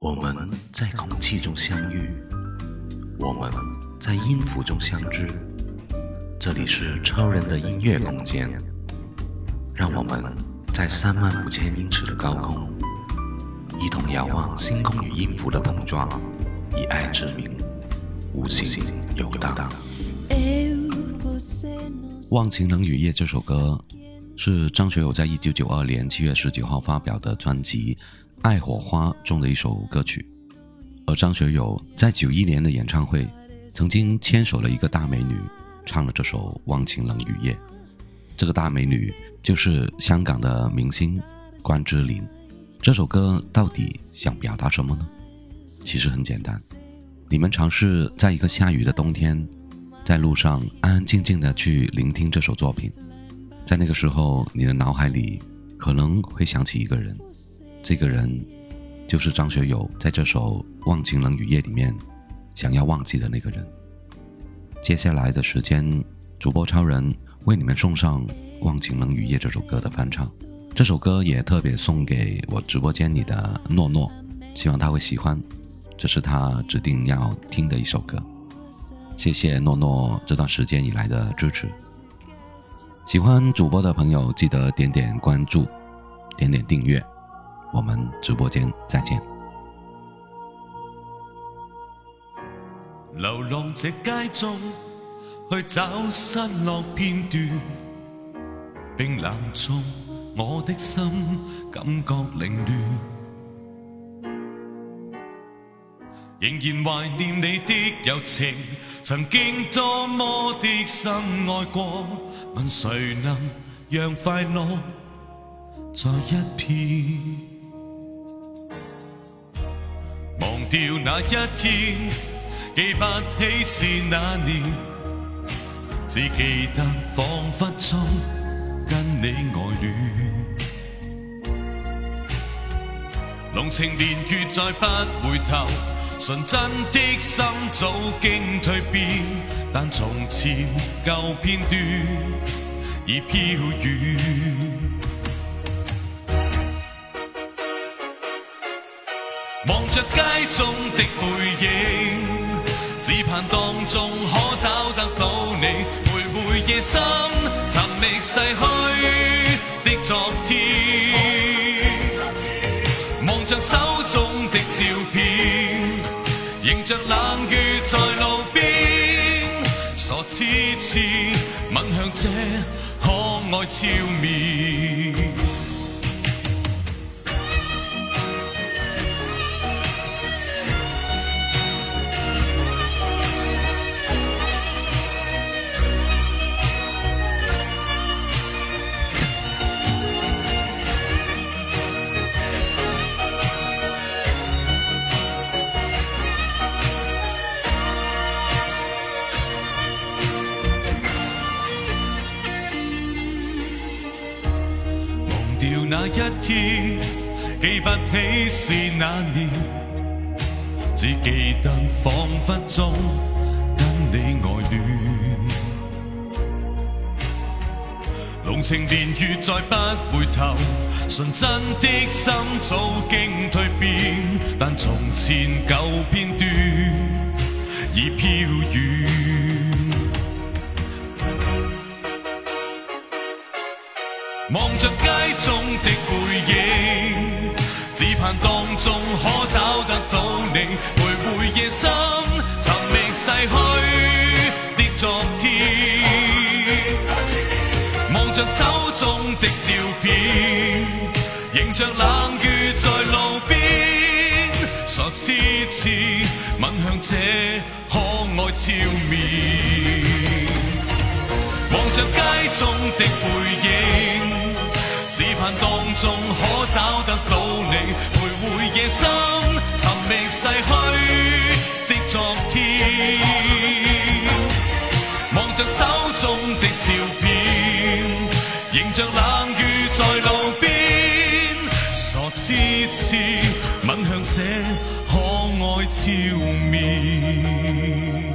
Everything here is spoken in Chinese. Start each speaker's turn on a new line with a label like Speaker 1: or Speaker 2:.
Speaker 1: 我们在空气中相遇，我们在音符中相知。这里是超人的音乐空间，让我们在35000英尺的高空，一同遥望星空与音符的碰撞，以爱之名，无形游荡。忘情冷雨夜这首歌是张学友在1992年7月19号发表的专辑《爱火花》中的一首歌曲。而张学友在91年的演唱会曾经牵手了一个大美女，唱了这首《忘情冷雨夜》。这个大美女就是香港的明星关之琳。这首歌到底想表达什么呢？其实很简单，你们尝试在一个下雨的冬天，在路上安安静静地去聆听这首作品，在那个时候你的脑海里可能会想起一个人，这个人就是张学友在这首《忘情冷雨夜》里面想要忘记的那个人。接下来的时间，主播超人为你们送上《忘情冷雨夜》这首歌的翻唱。这首歌也特别送给我直播间里的诺诺，希望他会喜欢，这是他指定要听的一首歌。谢谢诺诺这段时间以来的支持。喜欢主播的朋友记得点点关注，点点订阅，我们直播间再见。
Speaker 2: 流浪这街中去找失落片段，冰冷中我的心感覺凌亂，仍然懷念你的柔情，曾經多麼的深愛過，問誰能讓快樂在一片，忘掉那一天，記不起是那年，只記得彷彿中跟你愛戀，濃情年月再不回頭，純真的心早經蛻變，但從前舊片段已飄遠。望着街中的背影，只盼當中可找得到你，徘徊夜深，尋覓逝去的昨天，望着手中的照片，迎着冷雨在路邊，傻痴痴吻向這可愛俏面。掉那一天，記不起是那年，只記得彷彿中跟你愛戀，濃情年月再不回頭，純真的心早經蛻變，但從前舊片段已飄遠。望着街中的背影，只盼當中可找得到你，徘徊夜深，尋覓逝去的昨天，望着手中的照片，迎着冷雨在路邊，傻痴痴吻向這可愛俏面，望着街中的背影，只盼當中可找得到你，徘徊夜深，尋覓逝去的昨天，望着手中的照片，迎着冷雨在路邊，傻痴痴吻向這可愛俏面。